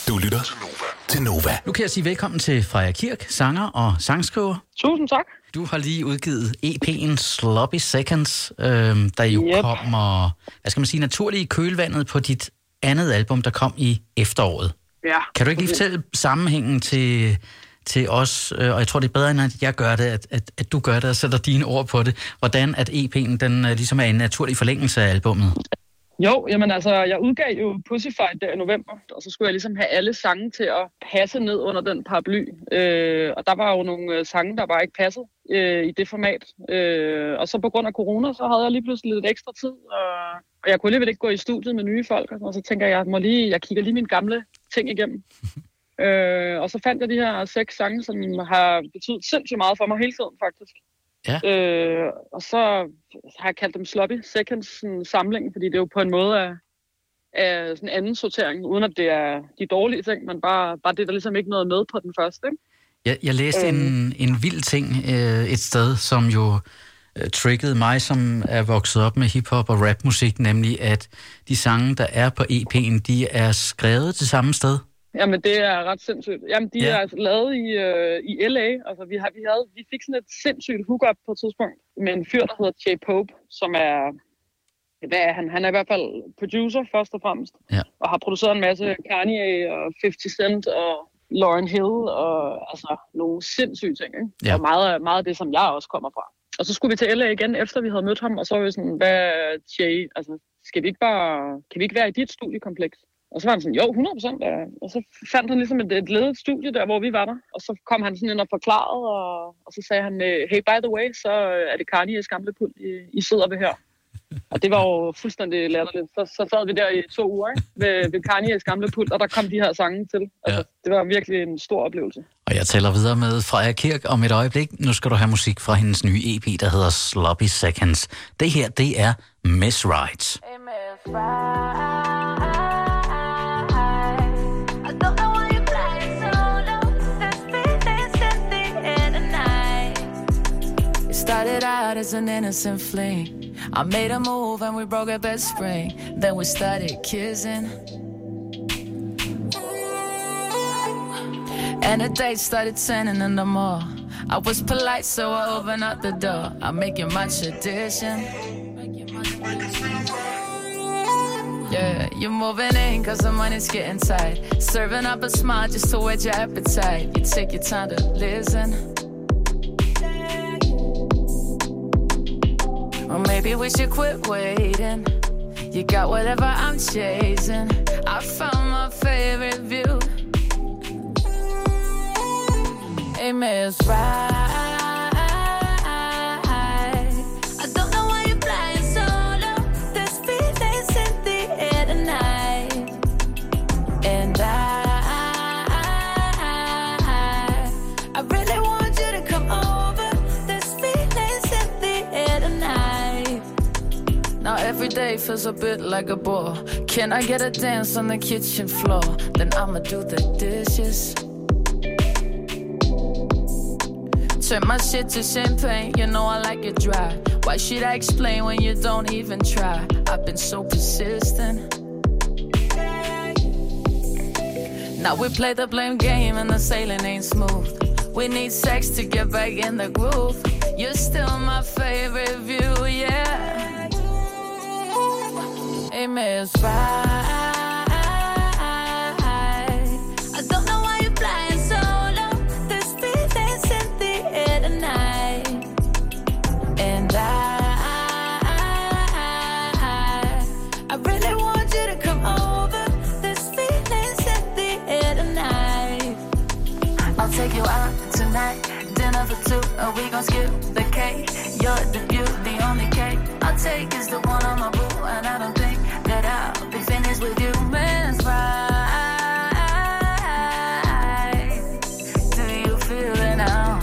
Du lytter til Nova. Nu kan jeg sige velkommen til Freja Kirk, sanger og sangskriver. Tusind tak. Du har lige udgivet EP'en Sloppy Seconds, der jo kommer, hvad skal man sige, naturligt i kølvandet på dit andet album, der kom i efteråret. Ja. Kan du ikke lige fortælle sammenhængen til os, og jeg tror, det er bedre, end at jeg gør det, at du gør det og sætter dine ord på det, hvordan at EP'en den ligesom er en naturlig forlængelse af albummet? Jo, jamen altså, jeg udgav jo Pussyfight der i november, og så skulle jeg ligesom have alle sange til at passe ned under den paraply. Og der var jo nogle sange, der bare ikke passede i det format. Og så på grund af corona, så havde jeg lige pludselig lidt ekstra tid, og jeg kunne alligevel ikke gå i studiet med nye folk, og så tænker jeg, jeg kigger lige mine gamle ting igennem. Og så fandt jeg de her 6 sange, som har betydet sindssygt meget for mig hele tiden, faktisk. Ja. Og så har jeg kaldt dem Sloppy Seconds samling, fordi det er jo på en måde af sådan en anden sortering, uden at det er de dårlige ting, men bare det, der ligesom ikke noget med på den første. Ikke? Jeg læste en vild ting et sted, som jo triggede mig, som er vokset op med hiphop og rapmusik, nemlig at de sange, der er på EP'en, de er skrevet til samme sted. Jamen, det er ret sindssygt. Jamen, de er altså lavet i LA. Altså, vi fik sådan et sindssygt hook-up på et tidspunkt med en fyr, der hedder Jay Pope, som er... Hvad er han? Han er i hvert fald producer, først og fremmest. Ja. Og har produceret en masse Kanye og 50 Cent og Lauryn Hill og altså nogle sindssyge ting, ikke? Ja. Og meget af det, som jeg også kommer fra. Og så skulle vi til LA igen, efter vi havde mødt ham, og så var vi sådan, hvad Jay, altså, kan vi ikke være i dit studiekompleks? Og så var han sådan, jo, 100%. Og så fandt han ligesom et ledet studie der, hvor vi var der. Og så kom han sådan ind og forklarede, og så sagde han, hey, by the way, så er det Kanye's gamle pult, I sidder ved her. Og det var jo fuldstændig latterligt. Så sad vi der i 2 uger, ikke? Ved Kanye's gamle pult, og der kom de her sange til. Altså, det var virkelig en stor oplevelse. Og jeg taler videre med Freja Kirk om et øjeblik. Nu skal du have musik fra hendes nye EP, der hedder Sloppy Seconds. Det her, det er Miss Right. Hey, Miss Right. Started out as an innocent fling. I made a move and we broke our best spring. Then we started kissing. And the date started turning into more. I was polite, so I opened up the door. I make it my tradition. Yeah, you're moving in cause the money's getting tight. Serving up a smile just to whet your appetite. You take your time to listen. Or maybe we should quit waiting. You got whatever I'm chasing. I found my favorite view. Hey, Miss Right. I don't know why you're flying solo. There's feelings in the air tonight. And I really want you to come over. There's feelings in the air tonight. Now every day feels a bit like a bore. Can I get a dance on the kitchen floor? Then I'ma do the dishes. Turn my shit to champagne, you know I like it dry. Why should I explain when you don't even try? I've been so persistent. Now we play the blame game and the sailing ain't smooth. We need sex to get back in the groove. You're still my favorite view, yeah. Hey, Miss Right. I don't know why you're flying solo. There's feelings in the air tonight. And I really want you to come over. There's feelings in the air tonight. I'll take you out tonight. Dinner for 2 and we gon' skip the cake. You're the beauty, the only cake I'll take is the one on my boo. And I don't think that I'll be finished with you, Miss Right. Do you feel it now?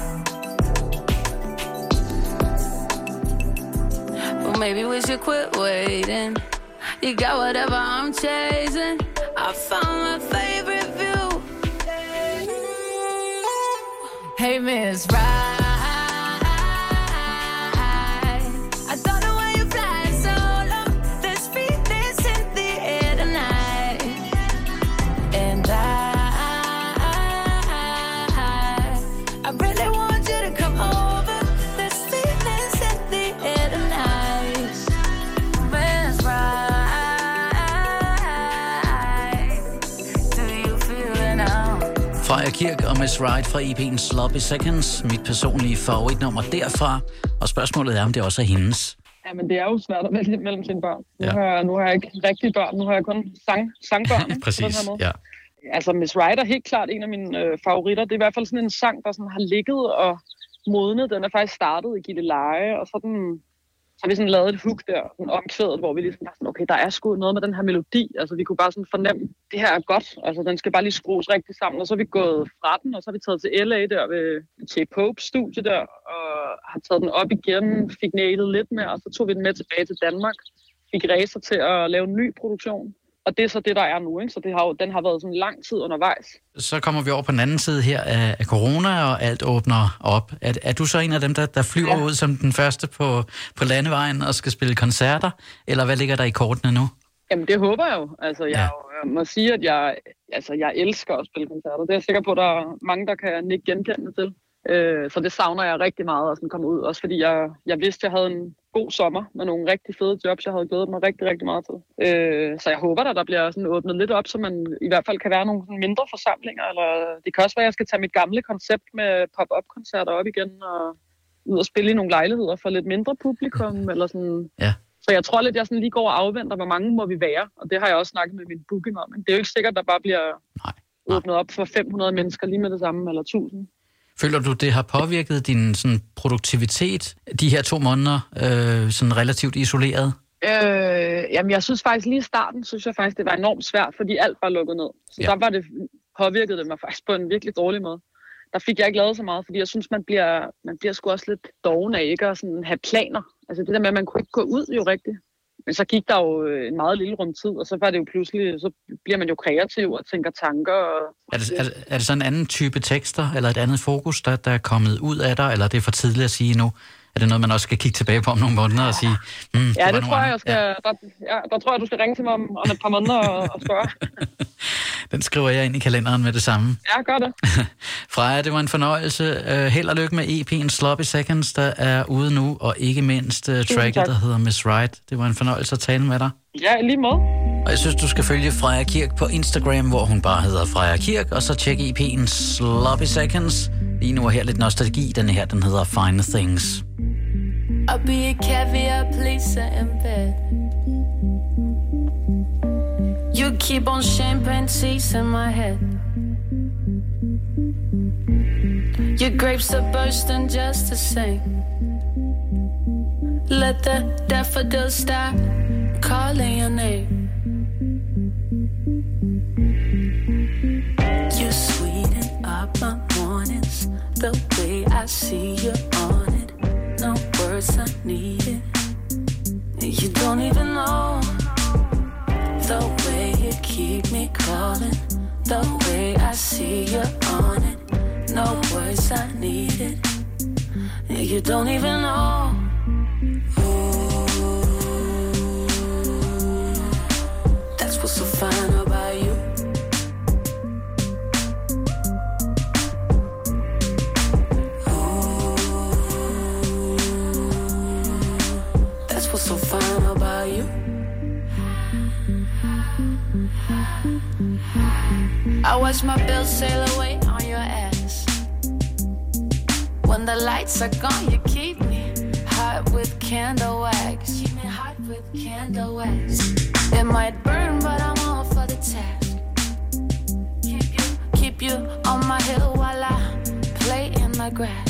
Well, maybe we should quit waiting. You got whatever I'm chasing. I found my favorite view. Hey, Miss Right. And I Freja Kirk og Miss Right fra EP'en Sloppy Seconds, mit personlige favoritnummer derfra. Og spørgsmålet er, om det også er hendes. Ja, men det er jo svært at vælge mellem sine børn. Nu har jeg ikke rigtige børn, nu har jeg kun sangbørn. Præcis, på den her måde. Ja. Altså, Miss Right er helt klart en af mine favoritter. Det er i hvert fald sådan en sang, der sådan har ligget og modnet. Den er faktisk startet i Gilleleje, og så har vi sådan lavet et hook der, sådan omkvædet, hvor vi ligesom var sådan, okay, der er sgu noget med den her melodi. Altså, vi kunne bare sådan fornemme, det her er godt. Altså, den skal bare lige skrues rigtig sammen. Og så er vi gået fra den, og så har vi taget til LA der ved J-Pope studie der, og har taget den op igen, fik nailet lidt mere, og så tog vi den med tilbage til Danmark. Fik racer til at lave en ny produktion. Og det er så det, der er nu, ikke? Så den har været sådan lang tid undervejs. Så kommer vi over på den anden side her af corona, og alt åbner op. Er du så en af dem, der flyver ud som den første på landevejen og skal spille koncerter? Eller hvad ligger der i kortene nu? Jamen, det håber jeg jo. Altså, jeg må sige, at jeg elsker at spille koncerter. Det er jeg sikker på, at der er mange, der kan nikke genkendende til. Så det savner jeg rigtig meget at komme ud. Også fordi jeg vidste, at jeg havde en god sommer med nogle rigtig fede jobs, jeg havde glædet mig rigtig, rigtig meget til. Så jeg håber, at der bliver sådan åbnet lidt op, så man i hvert fald kan være nogle mindre forsamlinger. Eller det kan også være, at jeg skal tage mit gamle koncept med pop-up-koncerter op igen og ud og spille i nogle lejligheder for lidt mindre publikum. Eller sådan. Ja. Så jeg tror lidt, jeg sådan lige går og afventer, hvor mange må vi være. Og det har jeg også snakket med min booking om. Men det er jo ikke sikkert, at der bare bliver åbnet op for 500 mennesker lige med det samme, eller 1000. Føler du, det har påvirket din sådan, produktivitet de her 2 måneder, sådan relativt isoleret? Jamen, jeg synes faktisk lige i starten, det var enormt svært, fordi alt var lukket ned. Så der var det, påvirkede det mig faktisk på en virkelig dårlig måde. Der fik jeg ikke lavet så meget, fordi jeg synes, man bliver sgu også lidt doven af ikke at sådan have planer. Altså det der med, at man kunne ikke gå ud jo rigtigt. Men så gik der jo en meget lille rumtid, og så var det jo pludselig, så bliver man jo kreativ og tænker tanker. Er det så en anden type tekster, eller et andet fokus, der er kommet ud af dig, eller er det for tidligt at sige nu? Er det noget, man også skal kigge tilbage på om nogle måneder og sige, det tror jeg skal. Ja. Der tror jeg, du skal ringe til mig om et par måneder og spørge. Den skriver jeg ind i kalenderen med det samme. Ja, gør det. Freja, det var en fornøjelse. Held og lykke med EP'en Sloppy Seconds, der er ude nu, og ikke mindst tracket, der hedder Miss Right. Det var en fornøjelse at tale med dig. Ja, lige måde. Og jeg synes, du skal følge Freja Kirk på Instagram, hvor hun bare hedder Freja Kirk, og så tjek EP'en Sloppy Seconds. Lige nu er her lidt nostalgi. Den her, den hedder Fine Things. I'll be a caviar pleaser in bed. You keep on champagne teasing my head. Your grapes are bursting just the same. Let the daffodils start calling your name. You sweeten up my mornings, the way I see you on it. No words I needed. You don't even know the way you keep me calling, the way I see you on it. No words I needed. You don't even know. Ooh, that's what's so fine about you. So fine about you. I watch my bills sail away on your ass. When the lights are gone, you keep me hot with candle wax. Keep me hot with candle wax. It might burn, but I'm all for the task. Keep you on my hill while I play in the grass.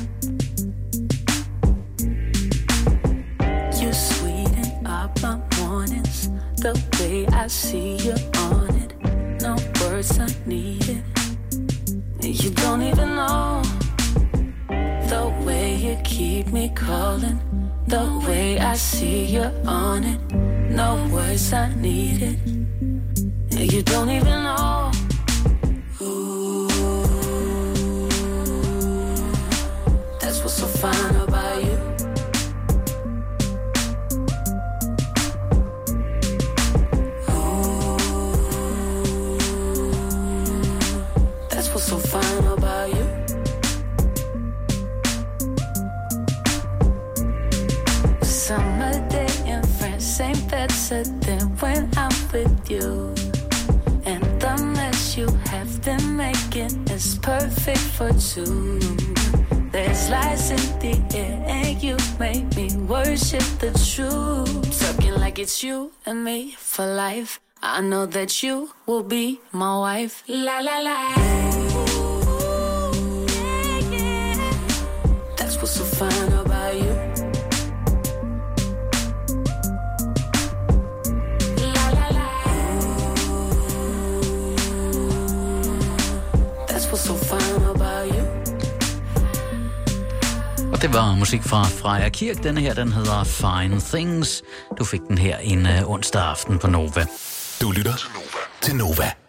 You sweeten up my mornings, the way I see you on it. No words I needed. You don't even know the way you keep me calling, the way I see you on it. No words I needed. You don't even know. Ooh, that's what's so fine about you. So fine about you. Summer day in France, same bed set than when I'm with you. And the mess you have been making thinking it's perfect for two. There's lies in the air and you make me worship the truth. Talking like it's you and me for life. I know that you will be my wife. La la la. That's what's so fine about you. La la la. That's what's so fine about you. Og det var musik fra Freja Kirk. Denne her, den hedder Fine Things. Du fik den her en onsdag aften på Nova. Du lytter til Nova.